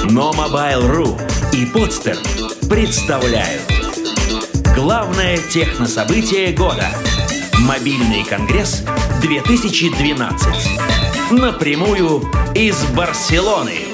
Но Mobile.ru и Podster представляют главное технособытие года – Мобильный конгресс 2012. Напрямую из Барселоны.